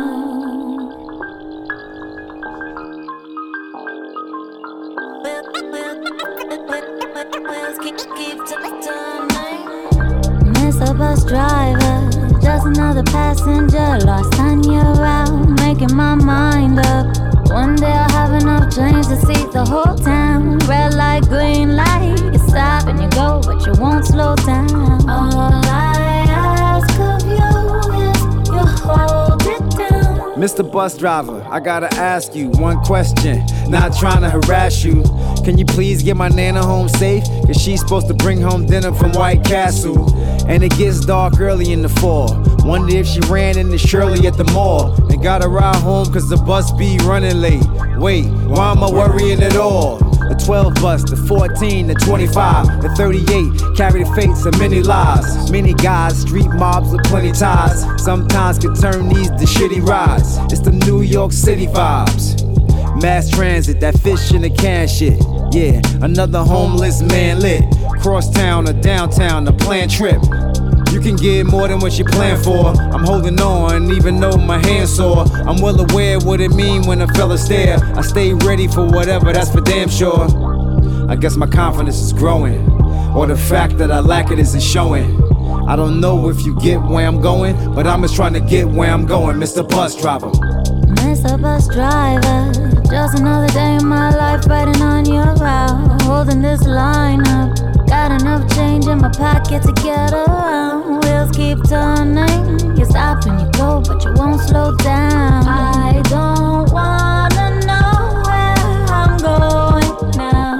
Wheels keep, keep turning. Mister Bus Driver, just another passenger lost on your route, making my mind up. One day I'll have enough change to see the whole town. Red light, green light, you stop and you go, but you won't slow down. All I ask of you is you hold it down. Mister Bus Driver, I gotta ask you one question, not trying to harass you. Can you please get my Nana home safe? Cause she's supposed to bring home dinner from White Castle. And it gets dark early in the fall. Wonder if she ran into Shirley at the mall and got a ride home cause the bus be running late. Wait, why am I worrying at all? The twelve bus, the fourteen, the twenty-five, the thirty-eight carry the fates of many lives. Many guys, street mobs with plenty ties, sometimes can turn these to shitty rides. It's the New York City vibes. Mass transit, that fish in a can shit. Yeah, another homeless man lit. Cross town or downtown, a planned trip. You can get more than what you plan for. I'm holding on, even though my hand's sore. I'm well aware what it mean when a fella stare. I stay ready for whatever, that's for damn sure. I guess my confidence is growing, or the fact that I lack it isn't showing. I don't know if you get where I'm going, but I'm just trying to get where I'm going, Mister Bus Driver. Mister Bus Driver, just another day in my life riding on your route. Holding this line up, got enough change in my pocket to get around. Wheels keep turning, you stop and you go, but you won't slow down. I don't wanna know where I'm going now.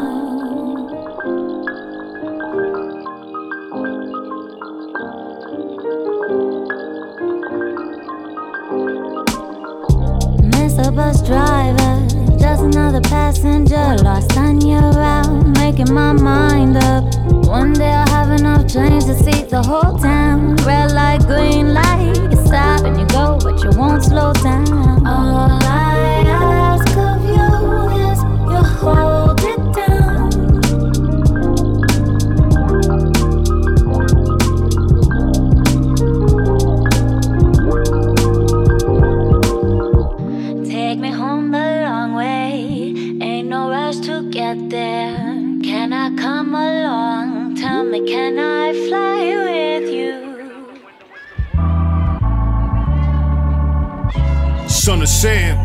Mister Bus Driver, just another passenger lost on your route, making my mind up. One day I'll have enough change to see the whole town. Red light, green light, you stop and you go, but you won't slow down. All I ask of you is you hold it down. Take me home the long way, ain't no rush to get there. Can I come along? Tell me, can I fly with you? Son of Sam.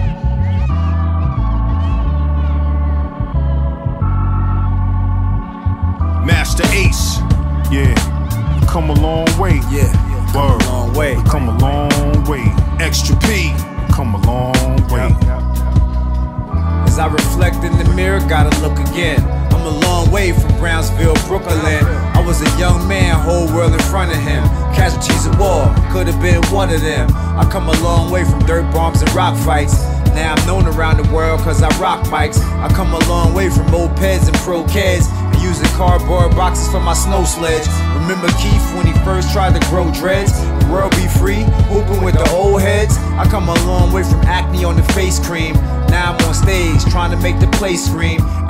Master Ace. Yeah, come a long way. Yeah, word. Come a long way. Come a long way. Extra P. Come a long way. As I reflect in the mirror, gotta look again. I'm a long way from Brownsville, Brooklyn. I was a young man, whole world in front of him. Casualties of war, could have been one of them. I come a long way from dirt bombs and rock fights. Now I'm known around the world cause I rock mics. I come a long way from mopeds and pro kids, and using cardboard boxes for my snow sledge. Remember Keith when he first tried to grow dreads? The world be free, hooping with the old heads. I come a long way from acne on the face cream. Now I'm on stage trying to make the place scream. I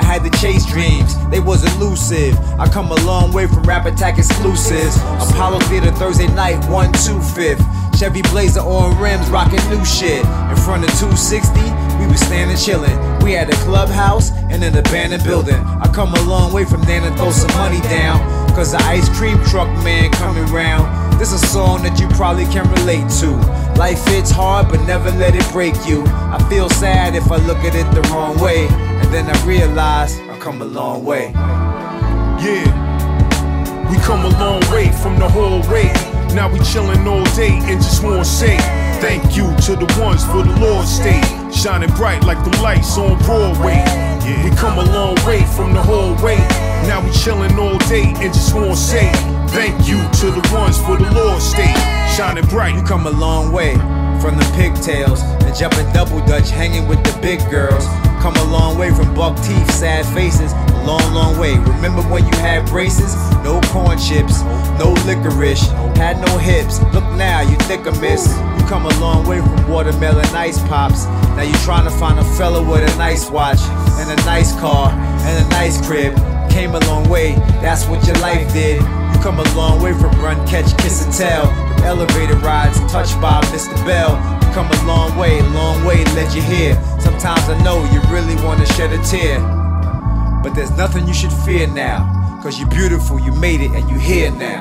had to chase dreams, they was elusive. I come a long way from Rap Attack exclusives. Apollo Theater Thursday night, one two fifth. Chevy Blazer on rims, rocking new shit. In front of two sixty, we was standing chillin'. We had a clubhouse and an abandoned building. I come a long way from there to throw some money down, cause the ice cream truck man coming round. This a song that you probably can relate to. Life hits hard, but never let it break you. I feel sad if I look at it the wrong way, and then I realize I come a long way. Yeah, we come a long way from the whole way. Now we chillin' all day and just wanna say thank you to the ones for the Lord's state, shining bright like the lights on Broadway. Yeah. We come a long way from the whole way. Now we chillin' all day and just wanna say thank you to the ones for the Lord's state, shining bright. You come a long way from the pigtails and jumping double dutch, hanging with the big girls. Come a long way from buck teeth, sad faces, a long, long way. Remember when you had braces? No corn chips, no licorice, had no hips. Look now, you thick a miss. You come a long way from watermelon ice pops. Now you trying to find a fella with a nice watch and a nice car and a nice crib. Came a long way, that's what your life did. You come a long way from run, catch, kiss and tell. From elevator rides, touched by Mister Bell. You come a long way, long way to let you hear. Sometimes I know you really wanna shed a tear, but there's nothing you should fear now, cause you're beautiful, you made it, and you here now.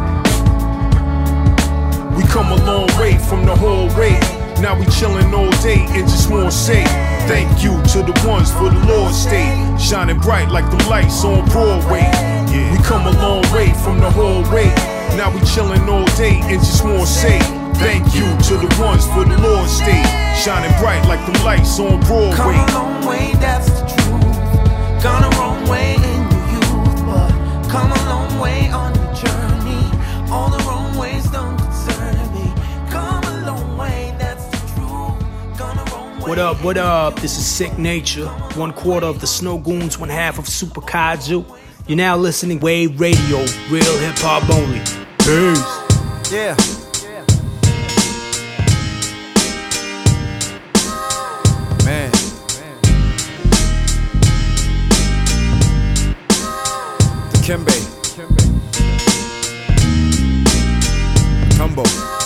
We come a long way from the whole way. Now we chillin' all day and just wanna say thank you to the ones for the Lord's state, shining bright like the lights on Broadway. Yeah. We come a long way from the whole way. Now we chillin' all day and just wanna say thank you to the ones for the Lord's state, shining bright like the lights on Broadway. Come a long way, that's the truth. Gone a wrong way in your youth, but come a long way on your journey. All the wrong ways don't concern me. Come a long way, that's the truth. Gone a wrong way. What up, what up? This is Sick Nature, one quarter of the Snow Goons, one half of Super Kaiju. You're now listening Wave Radio, real hip hop only. Peace. Yeah. Man. Dikembe. Tumbo.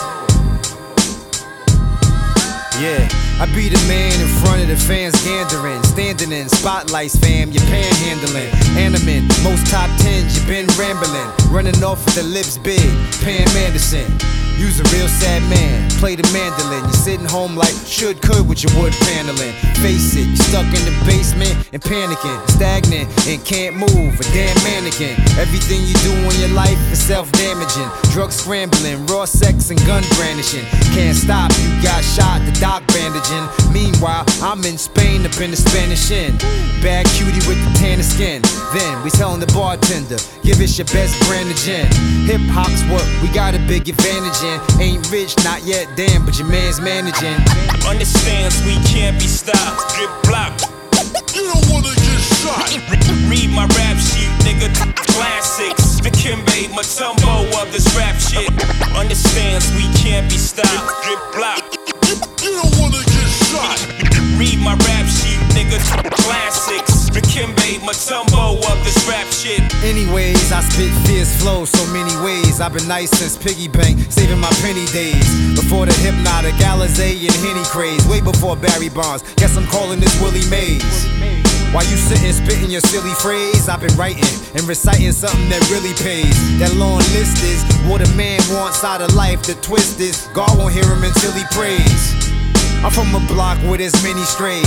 Yeah. I be the man in front of the fans gandering, standing in spotlights, fam, you're panhandling, animate, most top tens, you been rambling, running off with the lips big, Pam Anderson. You's a real sad man, play the mandolin. You're sitting home like should, could with your wood paneling. Face it, you're stuck in the basement and panicking, stagnant and can't move, a damn mannequin. Everything you do in your life is self-damaging. Drug scrambling, raw sex and gun brandishing. Can't stop, you got shot, the doc bandaging. Meanwhile, I'm in Spain up in the Spanish Inn. Bad cutie with the tan skin. Then we telling the bartender, give us your best brand of gin. Hip hop's what we got a big advantage in. Ain't rich, not yet, damn, but your man's managing. Understands we can't be stopped. Drip block. You don't wanna get shot. Read my rap sheet, nigga. Classics. Dikembe Mutombo of this rap shit. Understands we can't be stopped. Drip block. You don't wanna get shot. Read my rap sheet, nigga. Classics. Dikembe Mutombo of this rap shit. Anyways, I spit fierce flow so many ways. I've been nice since piggy bank, saving my penny days. Before the Hypnotic, Alizé and Henny craze. Way before Barry Bonds, guess I'm calling this Willie Mays. While you sitting spitting your silly phrase, I've been writing and reciting something that really pays. That long list is what a man wants out of life. The twist is God won't hear him until he prays. I'm from a block with as many strays,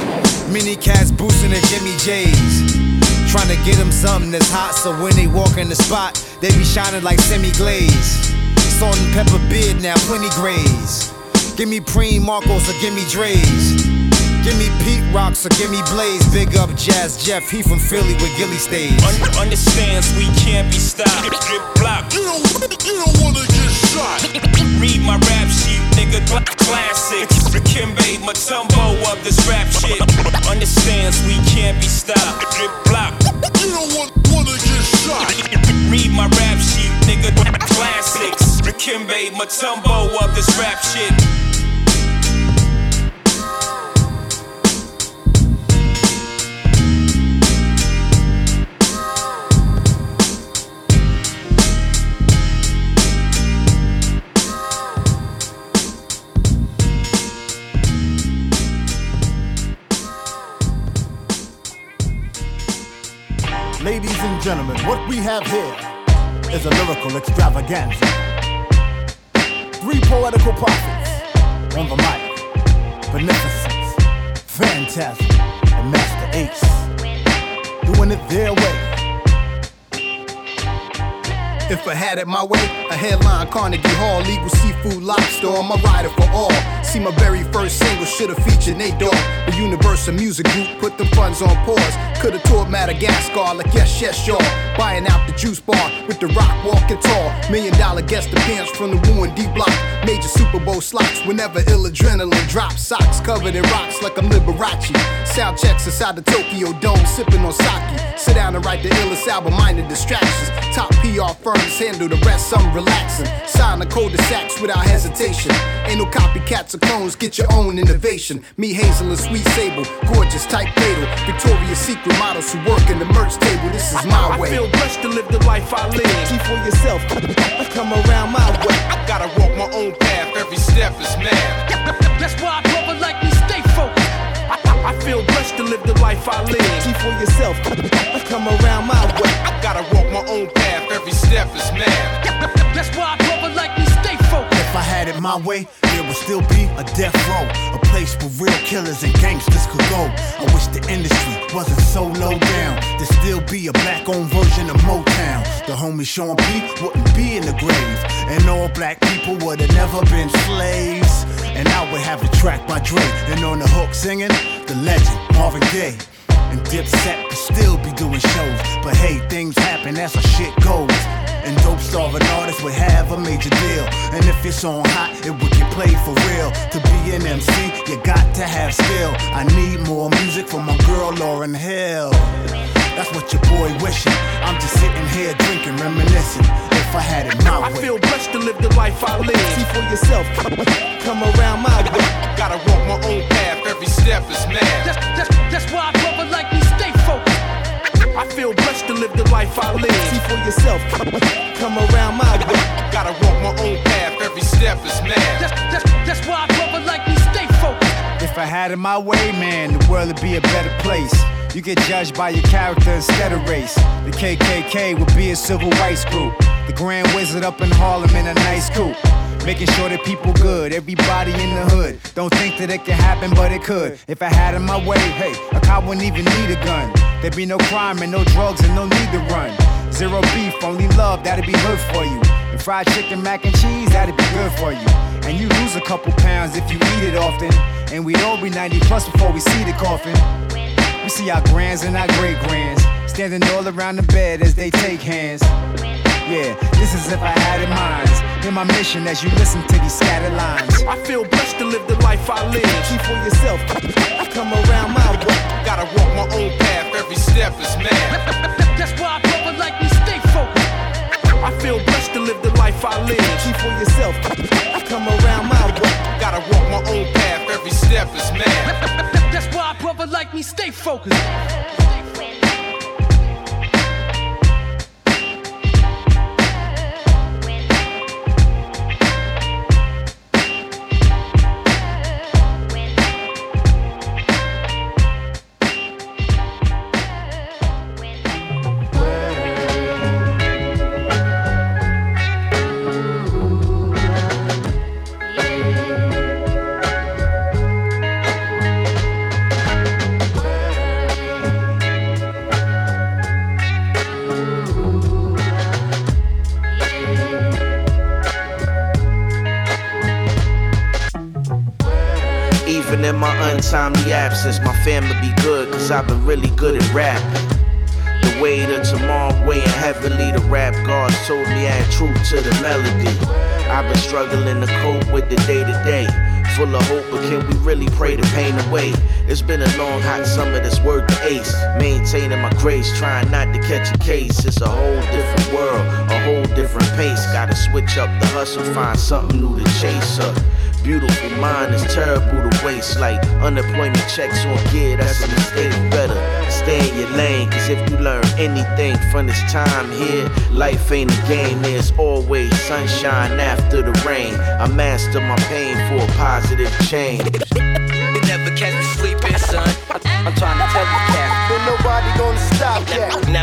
many cats boosting the Jimmy J's, trying to get them something that's hot, so when they walk in the spot, they be shining like semi-glaze. Salt and pepper beard now, plenty grays. Give me Preem Marcos or give me Dre's. Give me Pete Rocks or give me Blaze. Big up Jazz Jeff, he from Philly with Gilly stays. Un- understands we can't be stopped. Drip block. You don't, you don't wanna get shot. Read my rap sheet, nigga. Classics. Dikembe Mutombo of this rap shit. Understands we can't be stopped. Drip block. You don't want, wanna get shot. Read my rap sheet, nigga. Classics. Dikembe Mutombo of this rap shit. and gentlemen, what we have here is a lyrical extravaganza. Three poetical prophets on the mic. Beneficence, Phantasm, and Master Ace. Doing it their way. If I had it my way, a headline Carnegie Hall, legal seafood lobster on my rider for all. See, my very first single should've featured Nate Dogg. The Universal Music Group put them funds on pause. Could've toured Madagascar like yes, yes, y'all. Buying out the juice bar with the rock walking tall. Million dollar guest appearance from the Wu and D Block. Major Super Bowl slots whenever ill adrenaline drops. Socks covered in rocks like I'm Liberace. Sound checks inside the Tokyo Dome, sipping on sake. Sit down and write the illest album, minor distractions. Top P R firms handle the rest, I'm relaxing. Sign the cul-de-sacs without hesitation. Ain't no copycats or clones, get your own innovation. Me, Hazel, and Sweet Sable, gorgeous, tight fatal. Victoria's Secret models who work in the merch table, this is my way. I feel blessed to live the life I live. See for yourself, come around my way. I gotta walk my own path, every step is mad. That's why I brother like me stay focused. I, I feel blessed to live the life I live. See for yourself, come around my way. I gotta walk my own path, every step is mad. That's why I brother like me stay focused. If I had it my way, there would still be a death row, a place where real killers and gangsters could go. I wish the industry wasn't so low down. There'd still be a black-owned version of Motown. The homie Sean P wouldn't be in the grave, and all black people would have never been slaves. And I would have a track by Dre, and on the hook singing, the legend Marvin Gaye. And Dipset would still be doing shows, but hey, things happen, that's how shit goes. And dope starving artists would have a major deal. And if it's on hot, it would get played for real. To be an M C, you got to have skill. I need more music from my girl Lauryn Hill. That's what your boy wishing. I'm just sitting here drinking, reminiscing. If I had it my way. I feel blessed to live the life I live. See for yourself, come around my way. Gotta walk my own path, every step is mad. That's, that's, that's why I brother like me stay focused. I feel blessed to live the life I live. See for yourself, come around my way. Gotta walk my own path, every step is mad. That's, that's, that's why I brother like me stay focused. If I had it my way, man, the world would be a better place. You get judged by your character instead of race. The K K K would be a civil rights group. The Grand Wizard up in Harlem in a nice coupe. Making sure that people good, everybody in the hood. Don't think that it can happen, but it could. If I had it my way, hey, a cop wouldn't even need a gun. There'd be no crime and no drugs and no need to run. Zero beef, only love, that'd be good for you. And fried chicken, mac and cheese, that'd be good for you. And you lose a couple pounds if you eat it often. And we'd all be ninety plus before we see the coffin. We see our grands and our great grands standing all around the bed as they take hands. Yeah, this is if I had it mine. Hear my mission as you listen to these scattered lines. I feel blessed to live the life I live. Keep for yourself, come around my way. Gotta walk my own path, every step is mad. That's why I brother like me stay focused. I feel blessed to live the life I live. Keep for yourself, come around my way. Gotta walk my own path, every step is mad. That's why I brother like me stay focused. Even in my untimely absence, my family be good, cause I've been really good at rapping. The weight of tomorrow weighing heavily, the rap gods told me add truth to the melody. I've been struggling to cope with the day to day. Full of hope, but can we really pray the pain away? It's been a long, hot summer that's worth the ace. Maintaining my grace, trying not to catch a case. It's a whole different world, a whole different pace. Gotta switch up the hustle, find something new to chase up. Beautiful mind is terrible to waste. Like unemployment checks on gear, that's a mistake. Better stay in your lane, cause if you learn anything from this time here, life ain't a game, there's always sunshine after the rain. I master my pain for a positive change. You never catch me sleeping, son. I'm trying to tell you, cat. Ain't nobody gonna stop that. Never,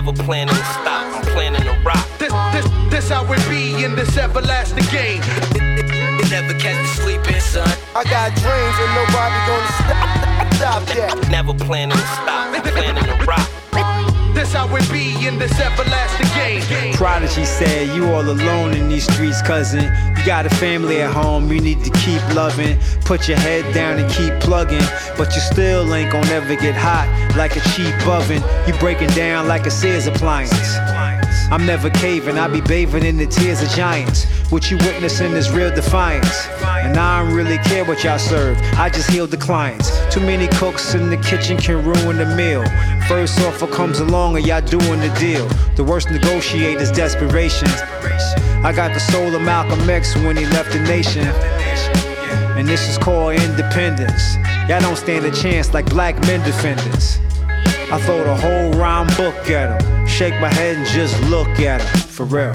Never planning to stop, I'm planning to rock. This, this, this how it be in this everlasting game. Never catch me sleeping, son. I got dreams and nobody gonna stop, stop that. Never planning to stop, I'm planning to rock. This how it be in this everlasting game. Prodigy said, you all alone in these streets, cousin. You got a family at home, you need to keep loving. Put your head down and keep plugging. But you still ain't gonna ever get hot like a cheap oven. You breaking down like a Sears appliance. I'm never caving, I be bathing in the tears of giants. What you witnessing is real defiance. And I don't really care what y'all serve, I just heal the clients. Too many cooks in the kitchen can ruin the meal. First offer comes along and y'all doing the deal. The worst negotiate is desperation. I got the soul of Malcolm X when he left the nation. And this is called independence. Y'all don't stand a chance like black men defendants. I throw the whole rhyme book at him. Shake my head and just look at him. For real.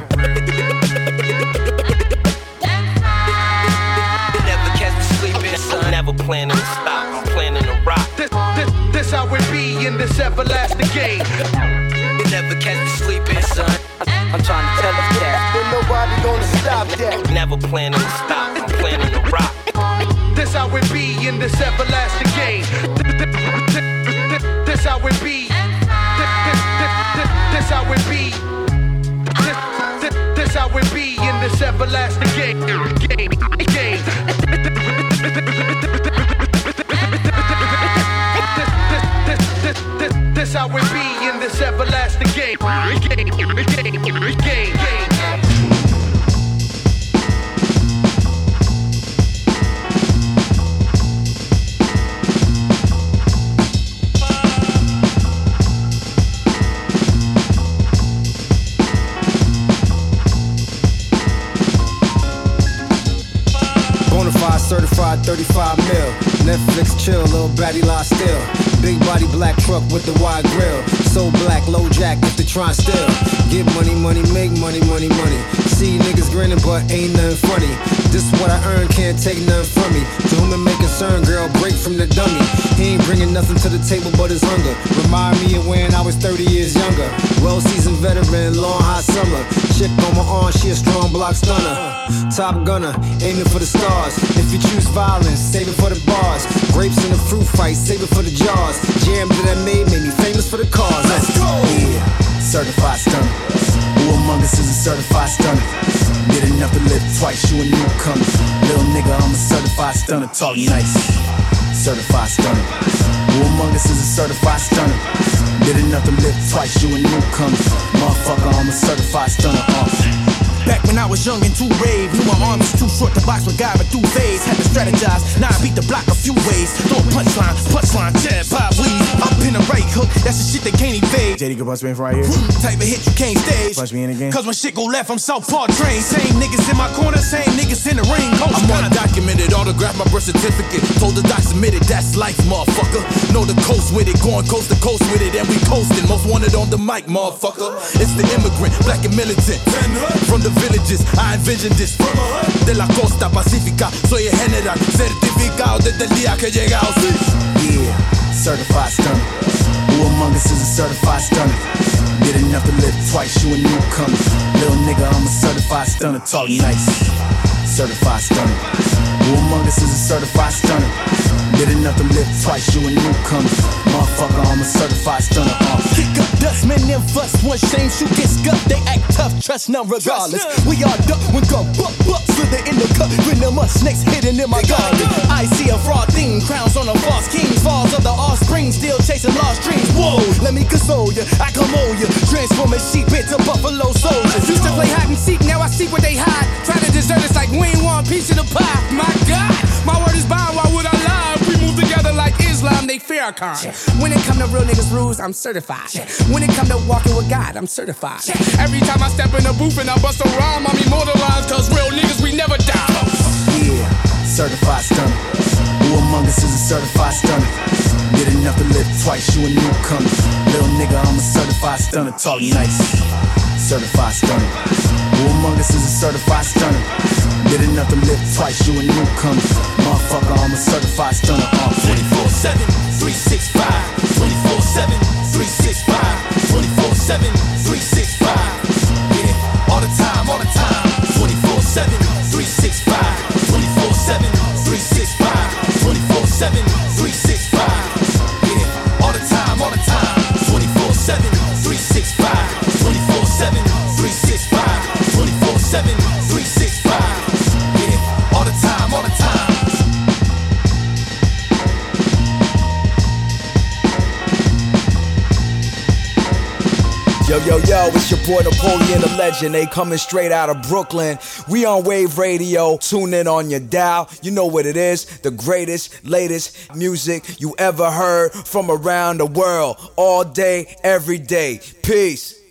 Never catch me sleeping, son. Never planning to stop, I'm planning to rock. This, this, this how it be in this everlasting game. Never catch me sleeping, son. I'm trying to tell you that. Ain't nobody gonna stop that. Never planning to stop, I'm planning to rock. This how it be in this everlasting game. This how it be. This how it be. This how it be in this everlasting game. Game. Game. This how it be in this everlasting game. Game. Game. Game. Certified thirty-five mil. Netflix chill, little baddie lie still. Big body black truck with the wide grill. So black, low jack if they try still. Get money, money, make money, money, money. See niggas grinning but ain't nothing funny. This is what I earn, can't take nothing from me. To whom it may concern, girl, break from the dummy. He ain't bringing nothing to the table but his hunger. Remind me of when I was thirty years younger. Well-seasoned veteran, long hot summer. Chick on my arm, she a strong block stunner. Top gunner, aiming for the stars. If you choose violence, save it for the bars. Grapes in the fruit fight, save it for the jars. Jam that I made made me famous for the cars. Let's go! Yeah, certified stunner. Who among us is a certified stunner? Did enough to live twice, you a newcomer. Little nigga, I'm a certified stunner. Talk nice. Certified stunner. Who among us is a certified stunner? Did enough to live twice, you a newcomer. Motherfucker, I'm a certified stunner. Uh. Back when I was young and too brave, knew my arm was too short to box with God, but through phase, had to strategize. Now I beat the block a few ways. Throw a punchline, punchline, jab, pop, weave. Up in a right hook, that's the shit that can't evade. J D can punch me in from right here. Type of hit you can't stage. Punch me in again. Cause when shit go left, I'm Southpaw train. Same niggas in my corner, same niggas in the ring. Coach I'm undocumented, autograph my birth certificate. Told the doc submitted, that's life, motherfucker. Know the coast with it, going coast to coast with it, and we coasting. Most wanted on the mic, motherfucker. It's the immigrant, black and militant. From the villages, I envision this. De la costa pacífica, soy el general, certificado desde el día que he llegado. Yeah, certified stunner. Who among us is a certified stunner? Did enough to live twice, you a newcomer. Little nigga, I'm a certified stunner. Talk nice. Certified stunner. Who among us is a certified stunner? Did enough to live twice, you a newcomer. Motherfucker, I'm a certified stunner. Uh. Kick up dust, men them fuss. One shame, shoot, get scuffed. They act tough, trust none regardless. Trust none. We all duck when gun buck, buck. Slither in the cut, rhythm up, snakes hidden in my garden. I see a fraud theme, crowns on a false king. Falls of the offspring, still chasing lost dreams. Whoa, let me console ya, I come on ya. Transform a sheep into buffalo soldiers. Used to play hide and seek, now I see where they hide. Try to desert us like we ain't want a piece of the pie. My God, my word is bond, why would I lie? If we move together like Islam, they Farrakhan. When it come to real niggas rules, I'm certified. When it come to walking with God, I'm certified. Every time I step in the booth and I bust a rhyme, I'm immortalized, cause real niggas, we never die. Yeah, certified stunner. Who among us is a certified stunner? Did enough to live twice, you a newcomer. Little nigga, I'm a certified stunner. Talk nice. Certified stunner. Who among us is a certified stunner? Did enough to live twice, you a newcomer. Motherfucker, I'm a certified stunner. Uh. twenty-four seven, three sixty-five. twenty-four seven, three sixty-five. twenty-four seven seven three six five. Yeah, all the time, all the time. Yo, yo, yo, it's your boy Napoleon the Legend. They coming straight out of Brooklyn. We on Wave Radio. Tune in on your dial. You know what it is. The greatest, latest music you ever heard from around the world. All day, every day. Peace.